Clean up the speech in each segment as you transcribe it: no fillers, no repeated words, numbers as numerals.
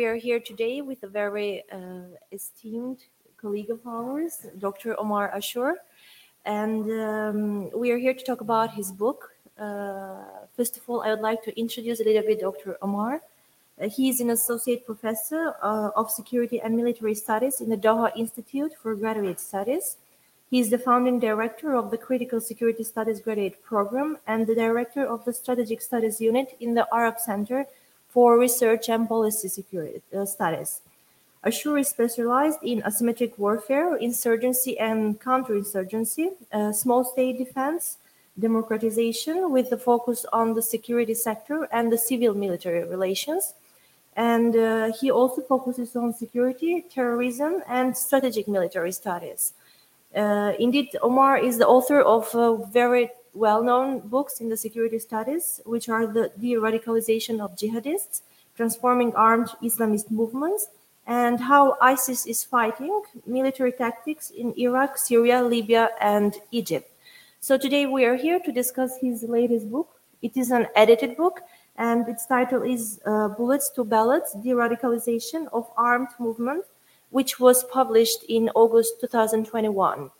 we are here today with a very esteemed colleague of ours, Dr. Omar Ashur. And we are here to talk about his book. First of all, I would like to introduce a little bit Dr. Omar. He is an associate professor of security and military studies in the Doha Institute for Graduate Studies. He is the founding director of the Critical Security Studies Graduate Program and the director of the Strategic Studies Unit in the Arab Center for Research and Policy Security Studies. Ashur is specialized in asymmetric warfare, insurgency and counterinsurgency, small state defense, democratization with the focus on the security sector and the civil-military relations. And he also focuses on security, terrorism, and strategic military studies. Indeed, Omar is the author of very well-known books in the security studies, which are the de-radicalization of jihadists, transforming armed Islamist movements, and how ISIS is fighting military tactics in Iraq, Syria, Libya, and Egypt. So today we are here to discuss his latest book. It is an edited book, and its title is Bullets to Ballots, De-Radicalization of Armed Movement, which was published in August 2021.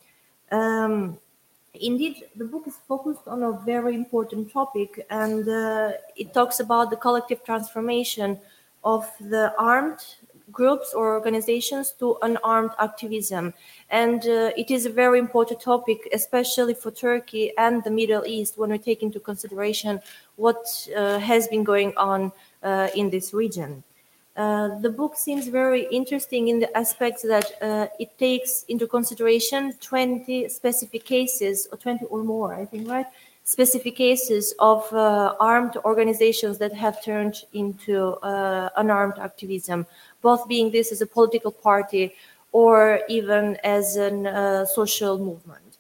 Indeed, the book is focused on a very important topic, and it talks about the collective transformation of the armed groups or organizations to unarmed activism. And it is a very important topic, especially for Turkey and the Middle East, when we take into consideration what has been going on in this region. The book seems very interesting in the aspects that it takes into consideration 20 specific cases, or 20 or more, I think, right? Specific cases of armed organizations that have turned into unarmed activism, both being this as a political party or even as a social movement.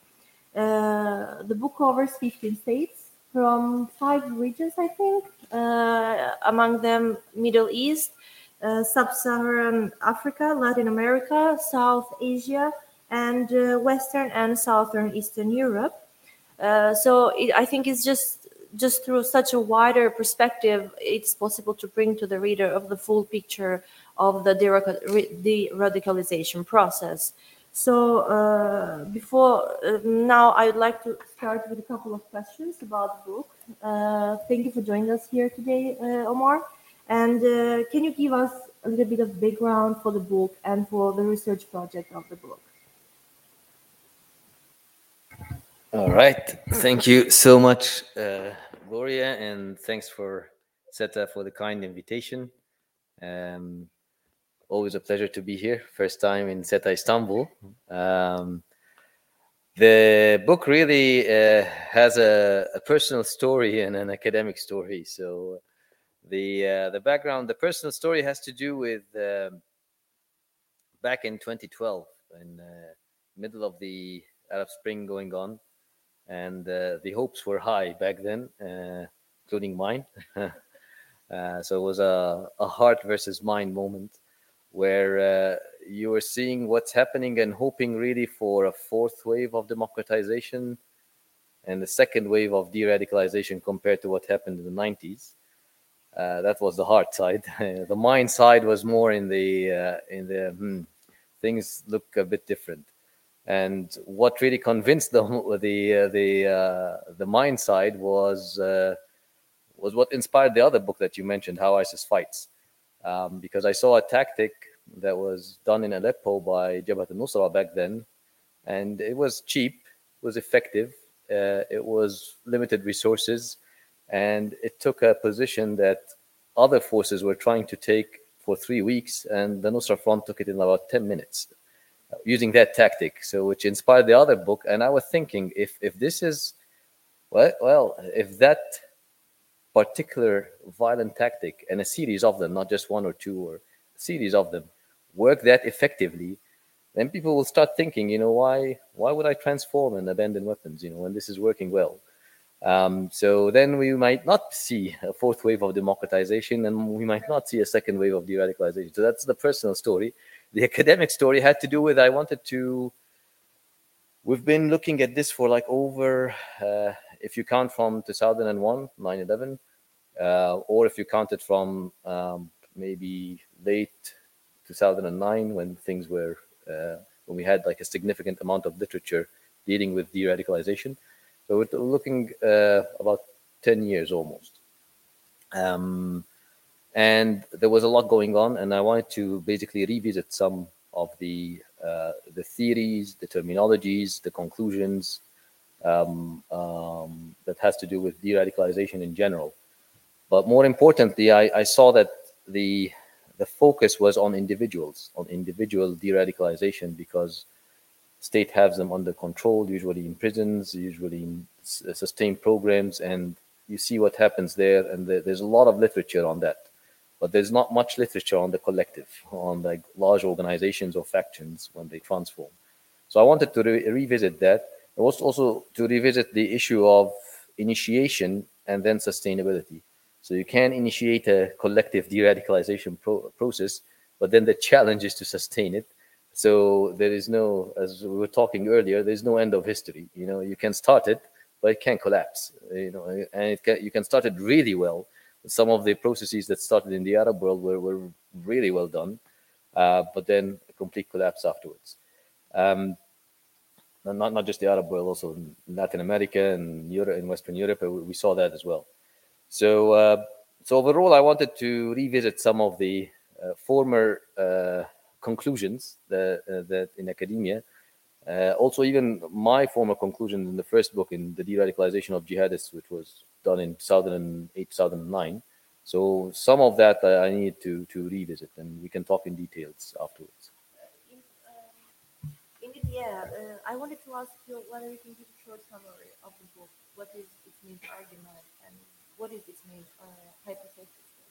The book covers 15 states from 5 regions, I think, among them Middle East, Sub-Saharan Africa, Latin America, South Asia, and Western and Southern Eastern Europe. I think it's just through such a wider perspective, it's possible to bring to the reader of the full picture of the de-radicalization process. So before now, I would like to start with a couple of questions about the book. Thank you for joining us here today, Omar. And can you give us a little bit of background for the book and for the research project of the book? All right. Thank you so much, Gloria, and thanks for SETA for the kind invitation. Always a pleasure to be here. First time in SETA Istanbul. The book really has a personal story and an academic story. So the background, the personal story has to do with back in 2012, in the middle of the Arab Spring going on. And the hopes were high back then, including mine. So it was a heart versus mind moment where you were seeing what's happening and hoping really for a fourth wave of democratization and the second wave of de-radicalization compared to what happened in the 90s. That was the heart side. The mind side was more in the things look a bit different. And what really convinced the mind side was what inspired the other book that you mentioned, How ISIS Fights, because I saw a tactic that was done in Aleppo by Jabhat al-Nusra back then, and it was cheap, it was effective, it was limited resources, and it took a position that other forces were trying to take for 3 weeks, and the Nusra Front took it in about 10 minutes. Using that tactic, so which inspired the other book, and I was thinking, if this is if that particular violent tactic and a series of them, not just one or two, or a series of them, work that effectively, then people will start thinking, why would I transform and abandon weapons, when this is working well? So then we might not see a fourth wave of democratization, and we might not see a second wave of de-radicalization. So that's the personal story. The academic story had to do with, we've been looking at this for like over, if you count from 2001, 9/11, or if you count it from maybe late 2009 when things were when we had like a significant amount of literature dealing with de-radicalization. So we're looking about 10 years almost. And there was a lot going on, and I wanted to basically revisit some of the theories, the terminologies, the conclusions that has to do with de-radicalization in general. But more importantly, I saw that the focus was on individuals, on individual de-radicalization, because state has them under control, usually in prisons, usually in sustained programs, and you see what happens there. And there's a lot of literature on that, but there's not much literature on the collective, on like large organizations or factions when they transform. So I wanted to revisit that. I was also to revisit the issue of initiation and then sustainability. So you can initiate a collective de-radicalization process, but then the challenge is to sustain it. So there is no, as we were talking earlier, there's no end of history. You know, you can start it, but it can collapse. You know, and you can start it really well. Some of the processes that started in the Arab world were really well done, but then a complete collapse afterwards. Not just the Arab world, also in Latin America and Europe, in Western Europe, we saw that as well. So, so overall, I wanted to revisit some of the former conclusions that in academia, also even my former conclusions in the first book, in the de-radicalization of jihadists, which was done in 2008, 2009. So some of that I need to revisit, and we can talk in details afterwards. Indeed, yeah. I wanted to ask you whether you can give a short summary of the book. What is its main argument and what is its main hypothesis?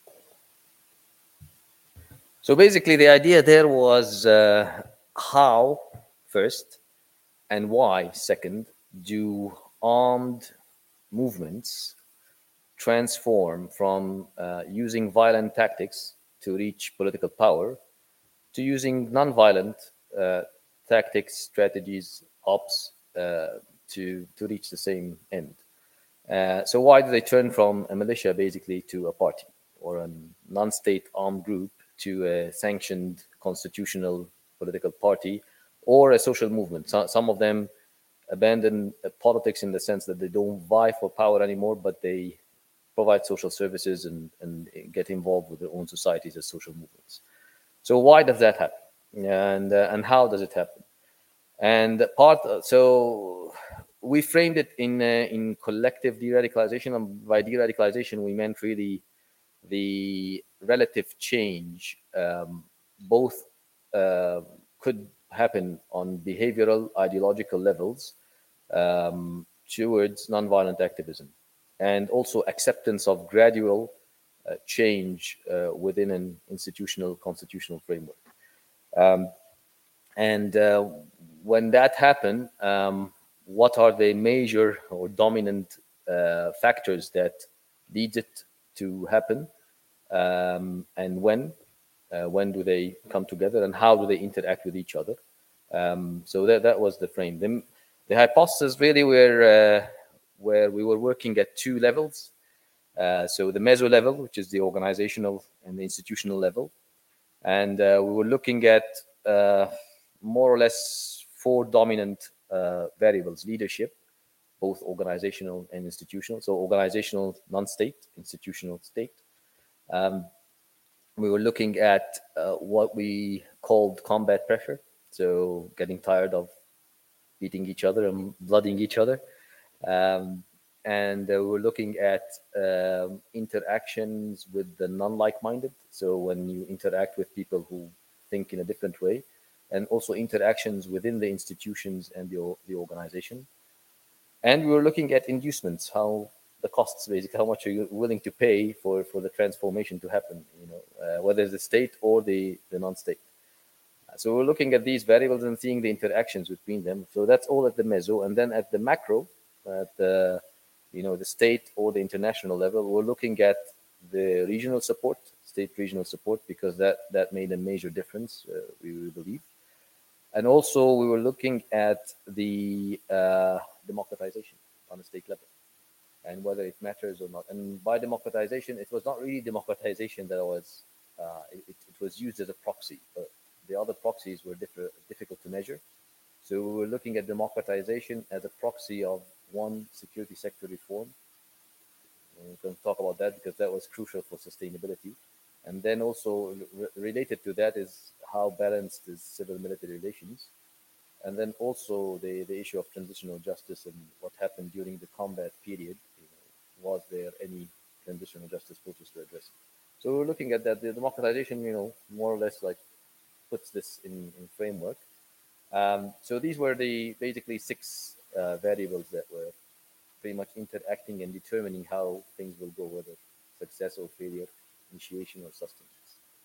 So basically, the idea there was how, first, and why, second, do armed movements transform from using violent tactics to reach political power to using non-violent tactics, strategies, ops to reach the same end. So why do they turn from a militia basically to a party or a non-state armed group to a sanctioned constitutional political party or a social movement? So, some of them abandon politics in the sense that they don't vie for power anymore, but they provide social services and get involved with their own societies as social movements. So why does that happen? And how does it happen? And so we framed it in collective de-radicalization. And by de-radicalization, we meant really the relative change, both could happen on behavioral, ideological levels towards nonviolent activism, and also acceptance of gradual change within an institutional, constitutional framework. And when that happened, what are the major or dominant factors that lead it to happen, and when do they come together, and how do they interact with each other? So that was the frame. The hypothesis really were where we were working at two levels. So the meso level, which is the organizational and the institutional level, and we were looking at more or less four dominant variables: leadership, both organizational and institutional. So organizational, non-state; institutional, state. We were looking at what we called combat pressure, so getting tired of beating each other and blooding each other. And we were looking at interactions with the non-like-minded. So when you interact with people who think in a different way, and also interactions within the institutions and the organization. And we were looking at inducements, how the costs, basically, how much are you willing to pay for the transformation to happen, whether it's the state or the non-state. So we're looking at these variables and seeing the interactions between them. So that's all at the meso. And then at the macro, at the state or the international level, we're looking at the regional support, state regional support, because that made a major difference, we believe. And also we were looking at the democratization on a state level and whether it matters or not. And by democratization, it was not really democratization that was, it was used as a proxy, but the other proxies were difficult to measure. So we were looking at democratization as a proxy of one, security sector reform. We can talk about that because that was crucial for sustainability. And then also related to that is how balanced is civil-military relations. And then also the issue of transitional justice and what happened during the combat period. Was there any transitional justice process to address it? So we're looking at that. The democratization, more or less like puts this in framework. So these were the basically six variables that were pretty much interacting and determining how things will go, whether success or failure, initiation or sustenance.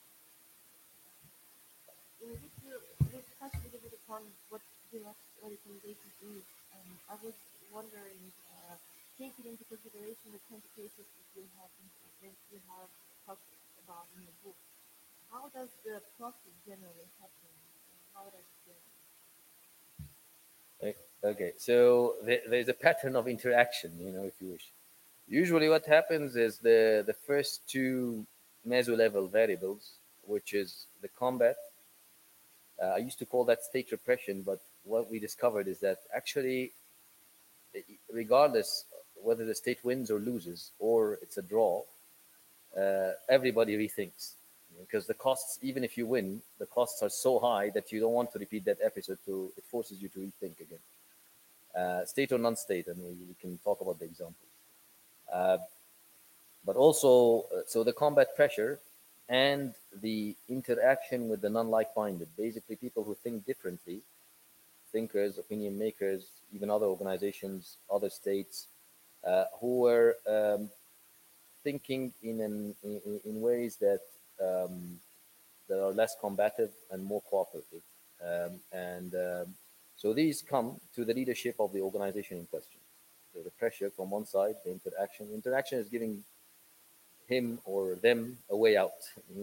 We touched a little bit upon what direct radicalization is. I was wondering, taking into consideration the 20 cases that you have talked about in the book, how does the process generally happen? How does Okay, so there's a pattern of interaction, if you wish. Usually what happens is the first two meso-level variables, which is the combat. I used to call that state repression, but what we discovered is that actually, regardless whether the state wins or loses, or it's a draw, everybody rethinks. Because the costs, even if you win, the costs are so high that you don't want to repeat that episode, so it forces you to rethink again. State or non-state, and we can talk about the examples. But also, so the combat pressure and the interaction with the non-like-minded, basically people who think differently, thinkers, opinion makers, even other organizations, other states, who were thinking in ways that are less combative and more cooperative. So these come to the leadership of the organization in question. So the pressure from one side, the interaction. Interaction is giving him or them a way out.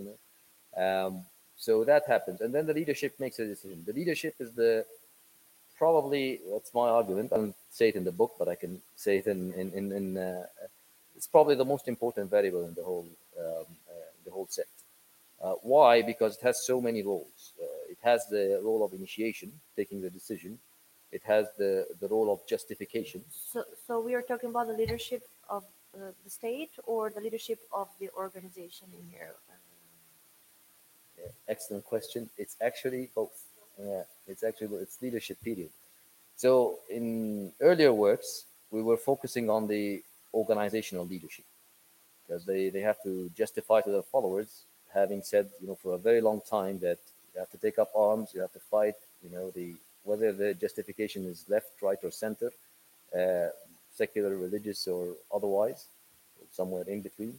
So that happens, and then the leadership makes a decision. The leadership is probably, that's my argument. I don't say it in the book, but I can say it in it's probably the most important variable in the whole set. Why? Because it has so many roles. It has the role of initiation, taking the decision. It has the role of justification. So we are talking about the leadership of the state or the leadership of the organization in here? Excellent question. It's actually both. It's leadership period. So in earlier works, we were focusing on the organizational leadership because they have to justify to their followers, having said, for a very long time that you have to take up arms, you have to fight, whether the justification is left, right, or center, secular, religious, or otherwise, somewhere in between.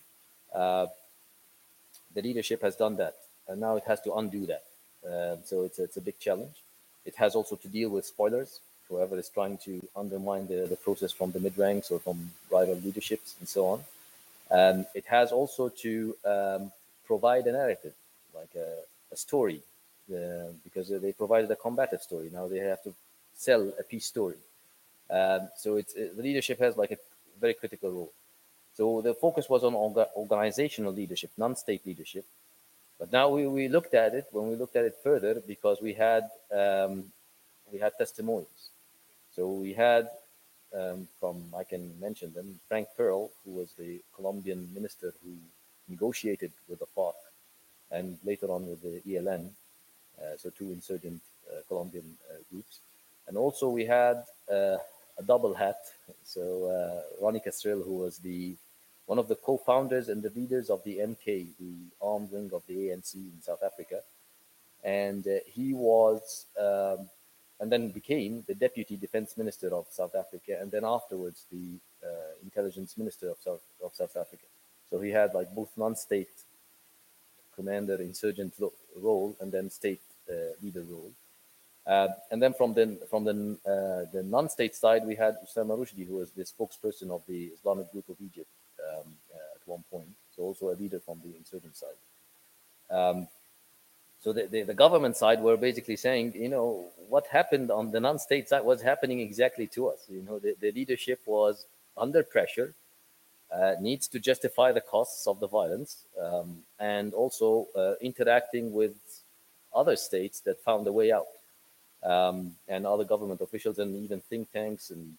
The leadership has done that, and now it has to undo that. So it's a big challenge. It has also to deal with spoilers, whoever is trying to undermine the process from the mid-ranks or from rival leaderships and so on. It has also to provide a narrative, like a story, because they provided a combative story. Now they have to sell a peace story. So the leadership has like a very critical role. So the focus was on organizational leadership, non-state leadership. But now we looked at it, when we looked at it further, because we had testimonies. So we had I can mention them, Frank Pearl, who was the Colombian minister who negotiated with the FARC and later on with the ELN, so two insurgent Colombian groups. And also we had a double hat, so Ronnie Castrell, who was one of the co-founders and the leaders of the MK, the armed wing of the ANC in South Africa. And he was and then became the deputy defense minister of South Africa, and then afterwards the intelligence minister of South Africa. So he had like both non-state commander insurgent role and then state leader role. And then from the non-state side, we had Usama Rushdi, who was the spokesperson of the Islamic Group of Egypt at one point, so also a leader from the insurgent side. So the government side were basically saying, what happened on the non-state side was happening exactly to us. The leadership was under pressure. needs to justify the costs of the violence, and also interacting with other states that found a way out, and other government officials and even think tanks and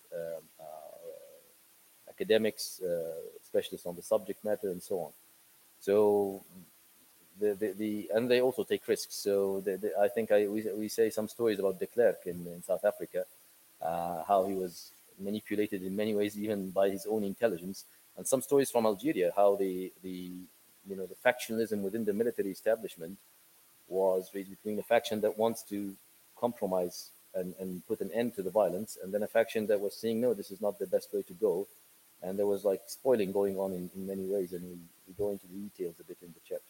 academics, specialists on the subject matter, and so on. So and they also take risks. So I think we say some stories about de Klerk in South Africa, how he was manipulated in many ways, even by his own intelligence, and some stories from Algeria, how the factionalism within the military establishment was raised between a faction that wants to compromise and put an end to the violence, and then a faction that was saying, no, this is not the best way to go. And there was like spoiling going on in many ways, and we go into the details a bit in the chapters.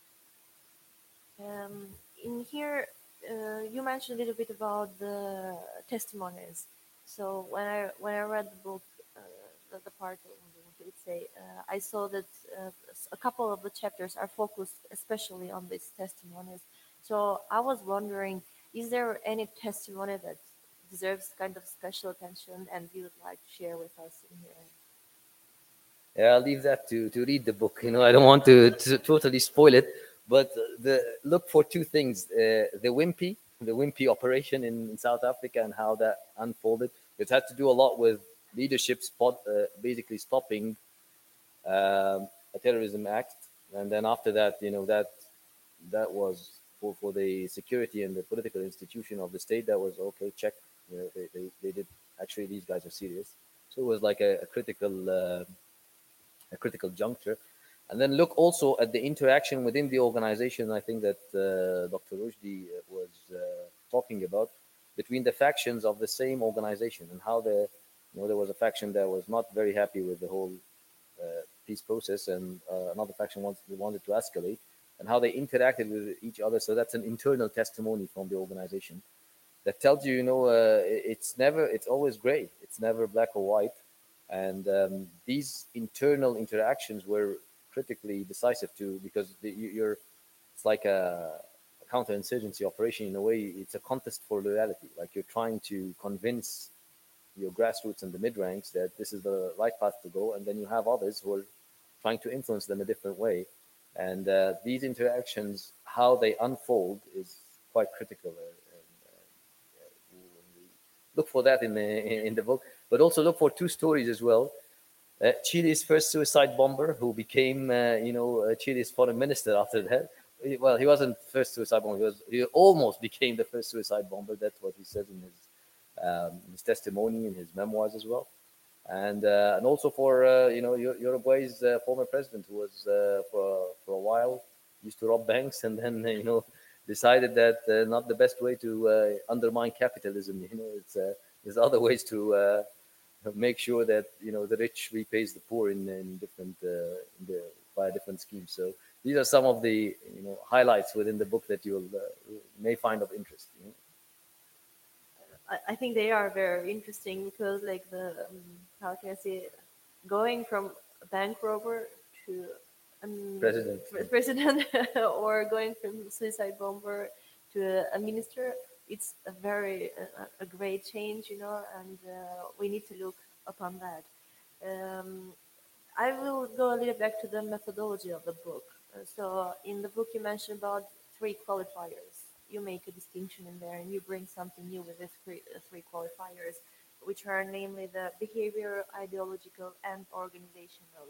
In here, you mentioned a little bit about the testimonies. So when I read the book, the part of the book, it say I saw that a couple of the chapters are focused especially on these testimonies. So I was wondering, is there any testimony that deserves kind of special attention and you would like to share with us in here? Yeah, I'll leave that to read the book. I don't want to totally spoil it, but look for two things: the Wimpy operation in South Africa and how that unfolded. It had to do a lot with leadership basically stopping a terrorism act, and then after that, that was for the security and the political institution of the state. That was okay. Check. They did actually. These guys are serious. So it was like a critical juncture. And then look also at the interaction within the organization. I think that Dr. Rushdie was talking about between the factions of the same organization, and how there was a faction that was not very happy with the whole peace process, and another faction wanted to escalate, and how they interacted with each other. So that's an internal testimony from the organization that tells you, it's always gray. It's never black or white. And these internal interactions were critically decisive too, because it's like a counterinsurgency operation in a way. It's a contest for loyalty. Like you're trying to convince your grassroots and the mid ranks that this is the right path to go, and then you have others who are trying to influence them a different way. And these interactions, how they unfold, is quite critical. Look for that in the book, but also look for two stories as well. Chile's first suicide bomber, who became Chile's foreign minister after that. Well, he wasn't first suicide bomber. He almost became the first suicide bomber. That's what he says in his testimony, in his memoirs as well. And also for Uruguay's former president, who was for a while used to rob banks, and then decided that not the best way to undermine capitalism. There's other ways to make sure that the rich repays the poor in different via different schemes. So these are some of the highlights within the book that you may find of interest. I think they are very interesting because, like, how can I say, going from a bank robber to president or going from suicide bomber to a minister, it's a very a great change, and we need to look upon that. Um, I will go a little back to the methodology of the book. So in the book, you mentioned about three qualifiers. You make a distinction in there, and you bring something new with these three qualifiers, which are namely the behavior, ideological, and organizational.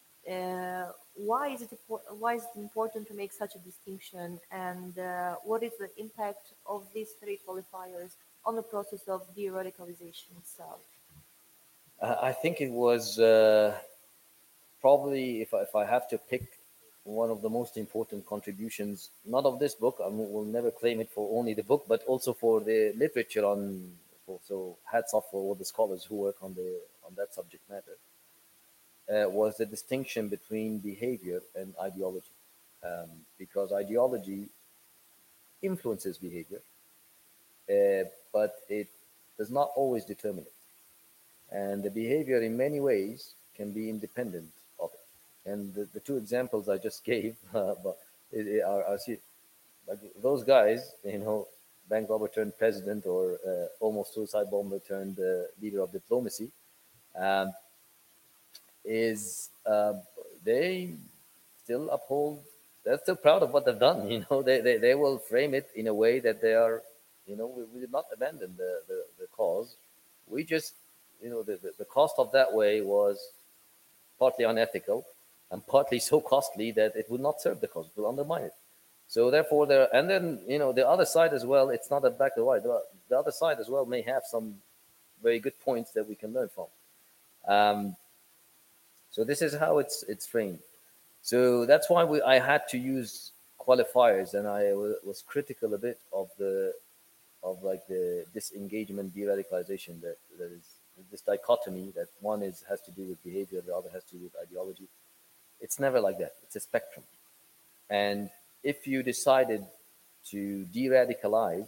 Why is it important to make such a distinction, and what is the impact of these three qualifiers on the process of de-radicalization itself? I think it was probably, if I have to pick one of the most important contributions, not of this book, I will never claim it for only the book, but also for the literature on. So hats off for all the scholars who work on that subject matter. Was the distinction between behavior and ideology, because ideology influences behavior, but it does not always determine it, and the behavior in many ways can be independent of it. And the two examples I just gave but are like those guys, bank robber turned president, or almost suicide bomber turned leader of diplomacy. Um, is they still uphold, they're still proud of what they've done. They will frame it in a way that they are, we did not abandon the cause. We just, the cost of that way was partly unethical and partly so costly that it would not serve the cause, it will undermine it. So therefore, and then the other side as well. It's not a black or white. The other side as well may have some very good points that we can learn from. Um, so this is how it's framed. So that's why I had to use qualifiers, and I was critical a bit of the disengagement, de-radicalization, that is this dichotomy that one has to do with behavior, the other has to do with ideology. It's never like that. It's a spectrum. And if you decided to de-radicalize,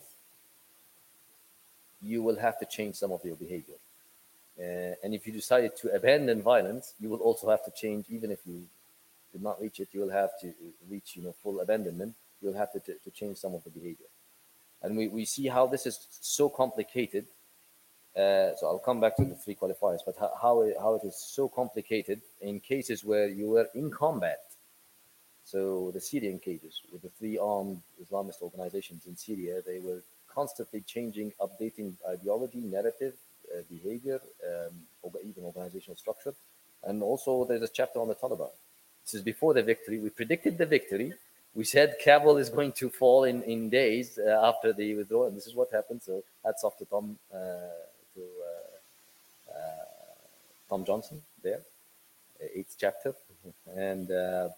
you will have to change some of your behavior. And if you decided to abandon violence, you will also have to change, even if you did not reach it, you will have to reach full abandonment. You'll have to change some of the behavior. And we see how this is so complicated. So I'll come back to the three qualifiers, but how it is so complicated in cases where you were in combat. So the Syrian cases with the three armed Islamist organizations in Syria, they were constantly changing, updating ideology, narrative, behavior, even organizational structure. And also there's a chapter on the Taliban. This is before the victory. We predicted the victory. We said Kabul is going to fall in days after the withdrawal, and this is what happened. So hats off to Tom Johnson there, eighth chapter, and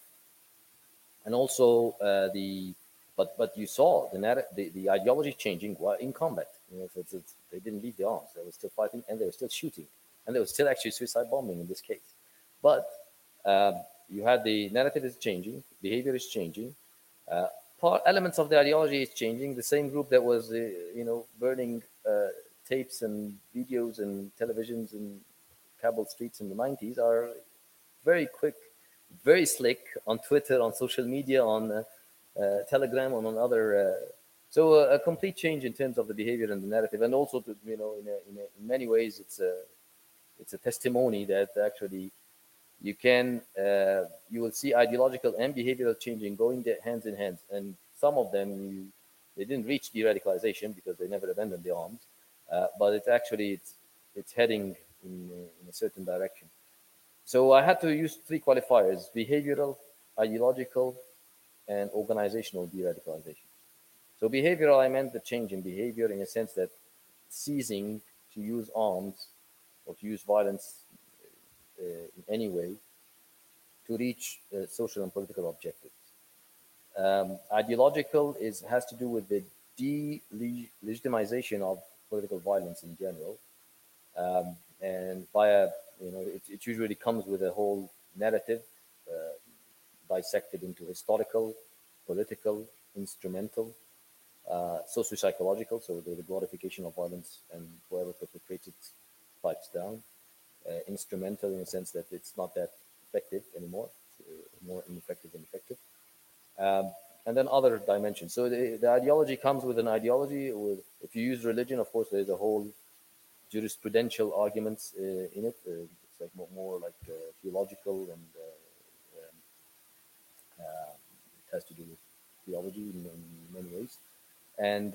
also but you saw the ideology changing while in combat. They didn't leave the arms; they were still fighting, and they were still shooting, and there was still actually suicide bombing in this case. But you had the narrative is changing, behavior is changing, elements of the ideology is changing. The same group that was burning tapes and videos and televisions in Kabul streets in the 90s are very quick, very slick on Twitter, on social media, on Telegram, on other. So a complete change in terms of the behavior and the narrative, and also in many ways it's a testimony that actually you will see ideological and behavioral changing going hands in hand, and some of them they didn't reach de-radicalization because they never abandoned the arms, but it's heading in a certain direction. So I had to use three qualifiers: behavioral, ideological, and organizational de-radicalization. So behavioral, I meant the change in behavior in a sense that ceasing to use arms or to use violence in any way to reach social and political objectives. Ideological has to do with the de-legitimization of political violence in general, and via it usually comes with a whole narrative dissected into historical, political, instrumental, socio-psychological, so the glorification of violence, and whoever perpetrates it fights down. Instrumental in the sense that it's not that effective anymore, more ineffective than effective. And then other dimensions. So the ideology comes with an ideology. If you use religion, of course, there's a whole jurisprudential arguments in it. It's like more like theological, and it has to do with theology in many ways. And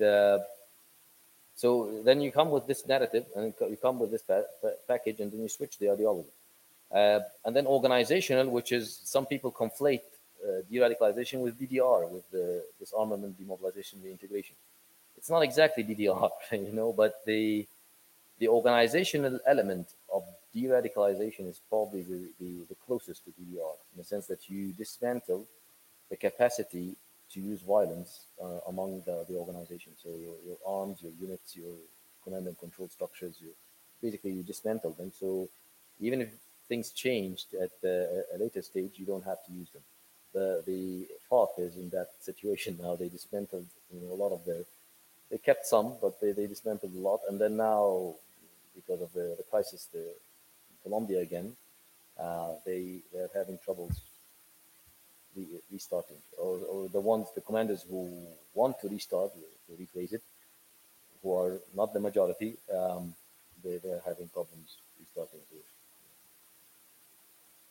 so then you come with this narrative, and you come with this package, and then you switch the ideology. And then organizational, which is some people conflate de-radicalization with DDR, with the disarmament, demobilization, reintegration. It's not exactly DDR, but the organizational element of de-radicalization is probably the closest to DDR, in the sense that you dismantle the capacity to use violence among the organization. So your arms, your units, your command and control structures, basically you dismantle them. So even if things changed at a later stage, you don't have to use them. The FARC is in that situation now. They dismantled a lot of they kept some, but they dismantled a lot. And then now, because of the crisis in Colombia again, they're having troubles restarting, or the commanders who want to restart, to replace it, who are not the majority, they're having problems restarting.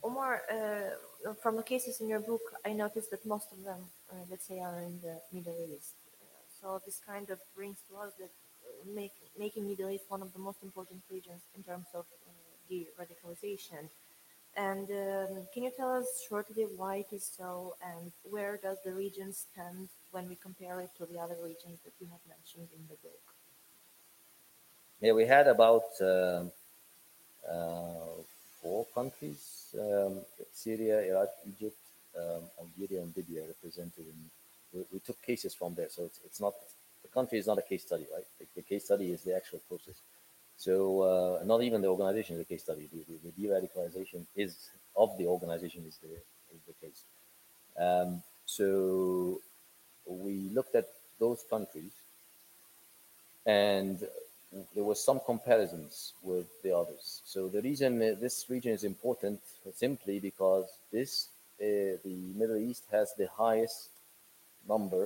Omar, from the cases in your book, I noticed that most of them, let's say, are in the Middle East. So this kind of brings to us that making Middle East one of the most important regions in terms of de-radicalization. And can you tell us shortly why it is so, and where does the region stand when we compare it to the other regions that you have mentioned in the book? Yeah, we had about uh, four countries: Syria, Iraq, Egypt, Algeria, and Libya represented. We took cases from there, so it's not the country is not a case study, right? The case study is the actual process. So not even the organization is a case study. The de-radicalization is of the organization is the case. So we looked at those countries, and there was some comparisons with the others. So the reason this region is important simply because the Middle East has the highest number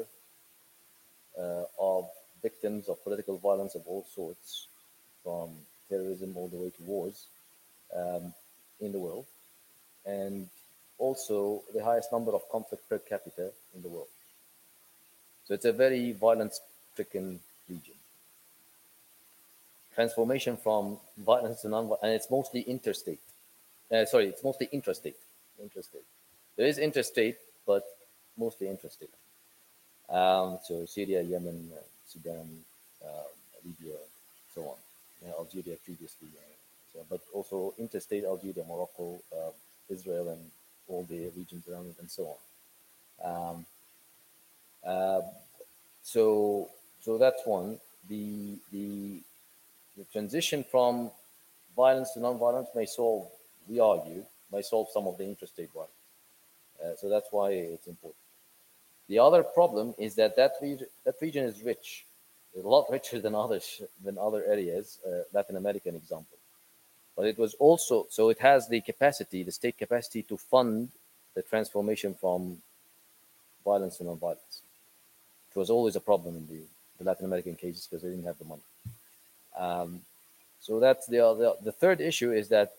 of victims of political violence of all sorts, from terrorism all the way to wars, um, in the world, and also the highest number of conflict per capita in the world. So it's a very violence-stricken region. Transformation from violence to non, and it's mostly interstate. It's mostly intrastate. Intrastate. There is interstate, but mostly intrastate. So Syria, Yemen, Sudan, Libya, so on. Algeria previously, but also interstate Algeria, Morocco, Israel, and all the regions around it, and so on. Uh, so so that's one. The transition from violence to non-violence we argue, may solve some of the interstate violence. So that's why it's important. The other problem is that region is rich, a lot richer than other areas, Latin American example. But it was also so it has the capacity, the state capacity to fund the transformation from violence to non-violence. It was always a problem in the Latin American cases because they didn't have the money. So that's the third issue is that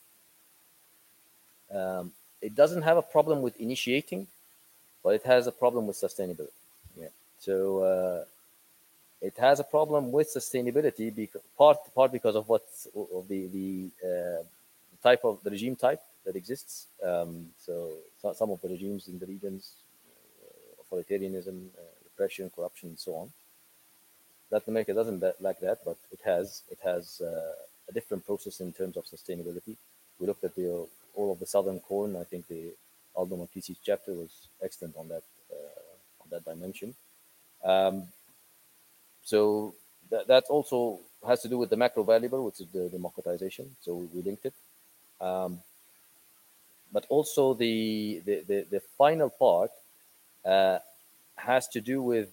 it doesn't have a problem with initiating, but it has a problem with sustainability. Yeah. So it has a problem with sustainability because part because of of the type of the regime type that exists. So some of the regimes in the regions, authoritarianism, repression, corruption, and so on. Latin America doesn't like that, but it has a different process in terms of sustainability. We looked at all of the southern corn. I think the Aldo Marquisi's chapter was excellent on that dimension. Um, so that also has to do with the macro variable, which is the democratization. So we linked it. But also the final part has to do with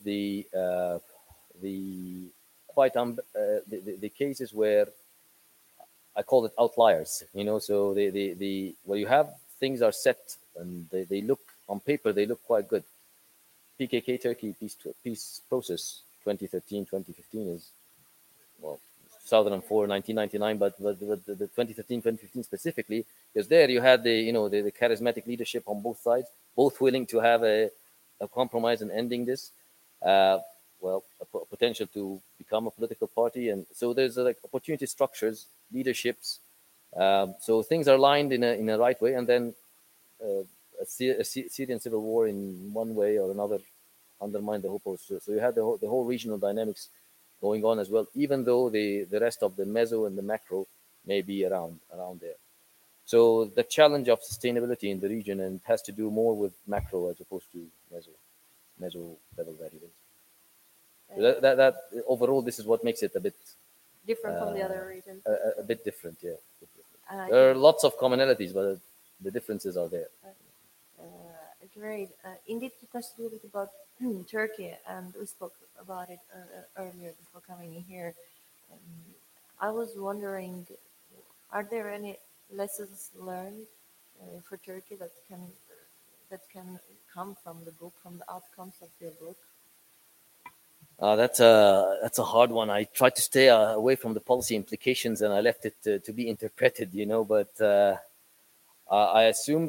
the the cases where I call it outliers. So where you have things are set and they look on paper they look quite good. PKK Turkey peace process 2013 2015 is, well, 2004 1999, but the 2013 2015 specifically, because there you had the charismatic leadership on both sides, both willing to have a compromise in ending this. Potential to become a political party, and so there's like opportunity structures, leaderships. So things are lined in a right way, and then a Syrian civil war in one way or another undermined the whole process. So you had the whole regional dynamics going on as well, even though the rest of the meso and the macro may be around there. So the challenge of sustainability in the region, and has to do more with macro as opposed to meso level variables. So that overall, this is what makes it a bit different from the other regions. A bit different, yeah. There are lots of commonalities, but the differences are there. Great. Indeed, you touched a little bit about Turkey, and we spoke about it earlier before coming in here. I was wondering, are there any lessons learned for Turkey that can come from the book, from the outcomes of your book? That's a hard one. I tried to stay away from the policy implications, and I left it to be interpreted. But I assume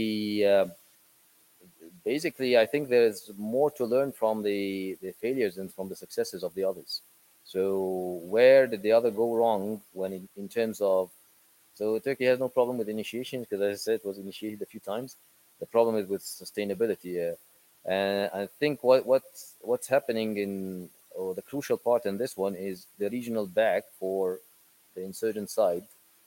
basically, I think there's more to learn from the failures and from the successes of the others. So where did the other go wrong when in terms of, so Turkey has no problem with initiation because, as I said, it was initiated a few times. The problem is with sustainability. And I think what's happening in, or the crucial part in this one is the regional back for the insurgent side.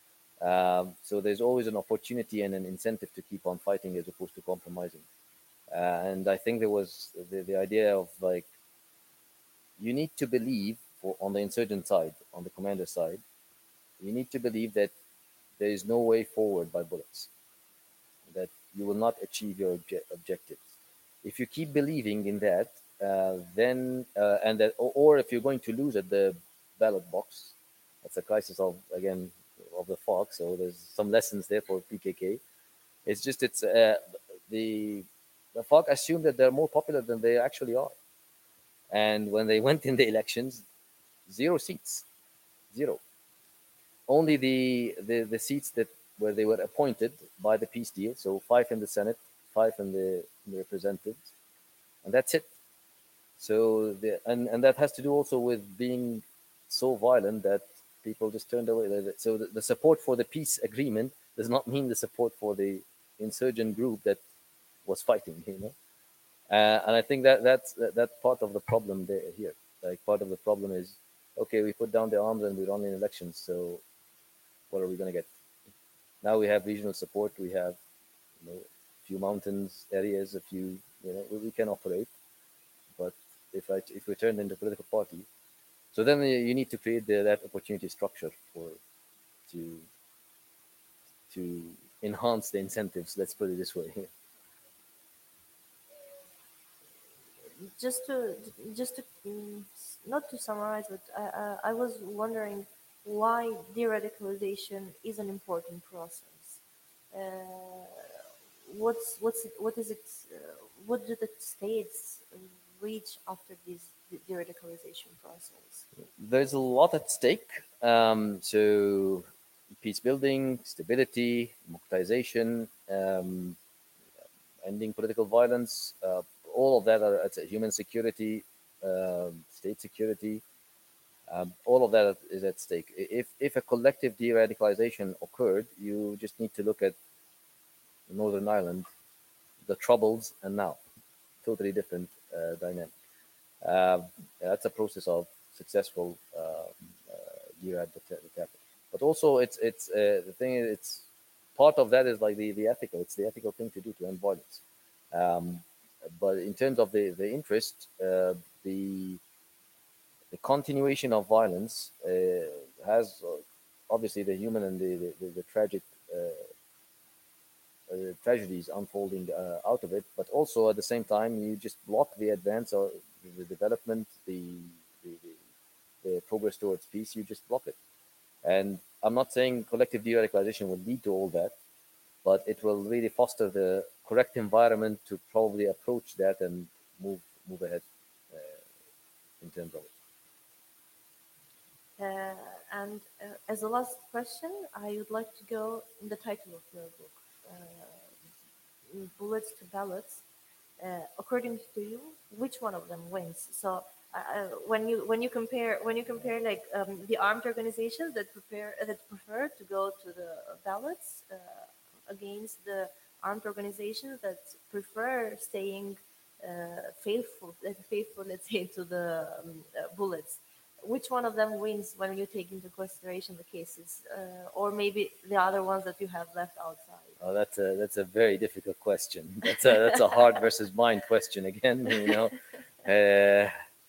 So there's always an opportunity and an incentive to keep on fighting as opposed to compromising. And I think there was the idea of like, you need to believe on the insurgent side, on the commander side, you need to believe that there is no way forward by bullets, that you will not achieve your objectives. If you keep believing in that, then and that, or if you're going to lose at the ballot box, that's a crisis of, again, of the FARC. So there's some lessons there for PKK. It's just the the FARC assume that they're more popular than they actually are, and when they went in the elections, 0 seats, zero. Only the seats that where they were appointed by the peace deal, so 5 in the Senate, 5 in the representatives, and that's it. So and that has to do also with being so violent that people just turned away. So the support for the peace agreement does not mean the support for the insurgent group that was fighting, you know. And I think that's part of the problem there here. Like, part of the problem is, okay, we put down the arms and we run in elections. So what are we going to get? Now we have regional support. We have, you know, a few mountains areas, a few, you know, we can operate. But if we turn into a political party, so then you need to create that opportunity structure to to enhance the incentives. Let's put it this way. Just to not to summarize, but I was wondering why de-radicalization is an important process. Uh, what is it? What do the states reach after this de-radicalization process? There's a lot at stake. So peace building, stability, democratization, ending political violence, all of that are at human security, state security. All of that is at stake. If a collective de-radicalization occurred, you just need to look at Northern Ireland, the Troubles, and now, totally different dynamic. That's a process of successful jihad that happened. But also, it's the thing is, it's part of that is like the ethical. It's the ethical thing to do to end violence. Um, but in terms of the interest, the continuation of violence has obviously the human and the tragic tragedies unfolding out of it, but also at the same time you just block the advance or the development, the, the progress towards peace. You just block it. And I'm not saying collective de-radicalization will lead to all that, but it will really foster the correct environment to probably approach that and move ahead in terms of it. And as a last question, I would like to go in the title of your book, Bullets to Ballots. According to you, which one of them wins? So when you compare like the armed organizations that prefer to go to the ballots against the armed organizations that prefer staying faithful, let's say, to the bullets. Which one of them wins when you take into consideration the cases, or maybe the other ones that you have left outside? Oh, that's a very difficult question. That's a heart versus mind question again. You know, uh,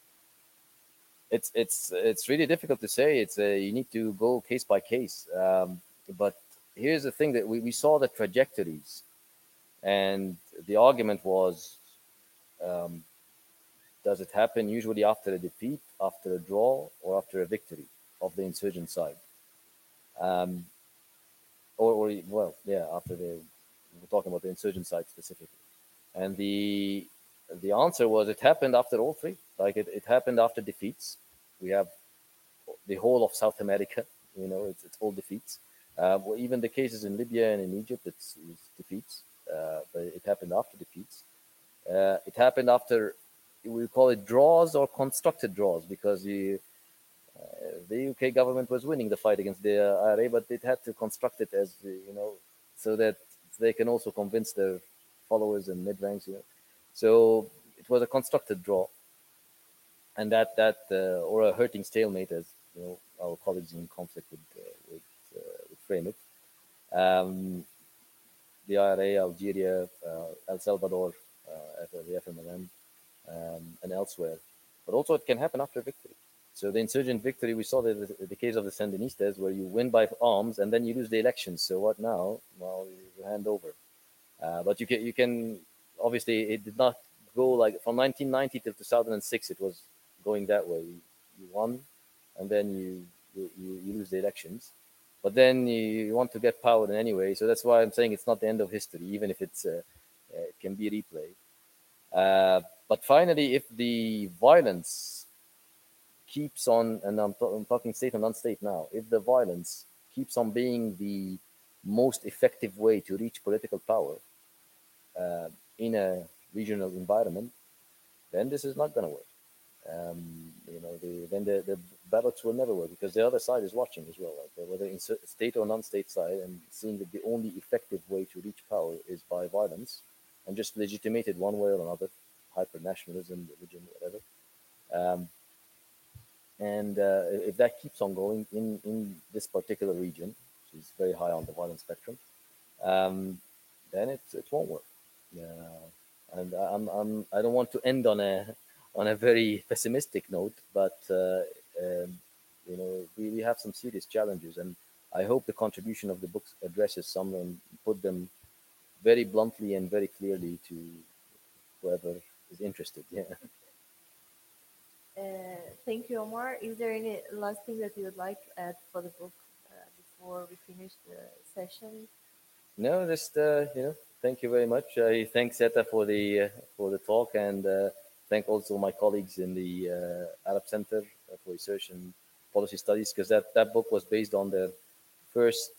it's really difficult to say. It's you need to go case by case. But here's the thing that we saw the trajectories, and the argument was, um, does it happen usually after a defeat, after a draw, or after a victory of the insurgent side? Um, or well, yeah, after we're talking about the insurgent side specifically. And the answer was it happened after all three. Like it happened after defeats. We have the whole of South America. You know, it's all defeats. Well, even the cases in Libya and in Egypt, it's defeats, but it happened after defeats. It happened after, we call it draws or constructed draws, because the UK government was winning the fight against the IRA, but it had to construct it as, so that they can also convince their followers and mid ranks. So it was a constructed draw, and that or a hurting stalemate, as our colleagues in conflict would frame it. Um, the IRA, Algeria, El Salvador, the FMLN, and elsewhere. But also, it can happen after victory. So the insurgent victory, we saw the case of the Sandinistas, where you win by arms and then you lose the elections. So what now? Well, you hand over. But you can obviously, it did not go like from 1990 till 2006. It was going that way. You won, and then you lose the elections. But then you want to get power in any way. So that's why I'm saying it's not the end of history, even if it can be replayed. But finally, if the violence keeps on, and I'm talking state and non-state now, if the violence keeps on being the most effective way to reach political power in a regional environment, then this is not going to work. Then the ballots will never work, because the other side is watching as well, like whether in state or non-state side, and seeing that the only effective way to reach power is by violence, and just legitimate it one way or another, hyper nationalism, religion, whatever. Um, and if that keeps on going in this particular region, which is very high on the violence spectrum, um, then it won't work. And I don't want to end on a very pessimistic note, but we have some serious challenges, and I hope the contribution of the books addresses some and put them very bluntly and very clearly to whoever is interested. Yeah. Thank you, Omar. Is there any last thing that you would like to add for the book before we finish the session? No, just thank you very much. I thank Zeta for the talk, and thank also my colleagues in the Arab Center for Research and Policy Studies, because that book was based on the first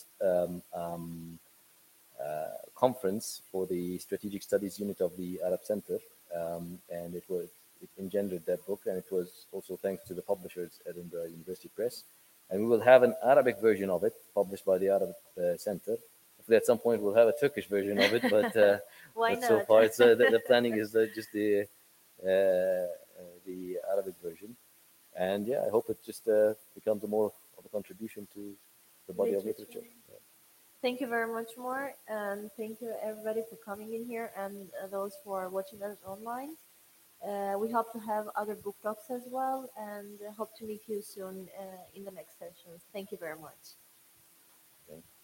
conference for the Strategic Studies unit of the Arab Center, and it engendered that book, and it was also thanks to the publishers, Edinburgh University Press. And we will have an Arabic version of it published by the Arab Center. Hopefully, at some point, we'll have a Turkish version of it, Why but so not? far, the planning is just the Arabic version. And yeah, I hope it just becomes more of a contribution to the body of literature. Yeah. Thank you very much, Omar, and thank you everybody for coming in here, and those who are watching us online. We hope to have other book talks as well, and hope to meet you soon in the next sessions. Thank you very much. Okay.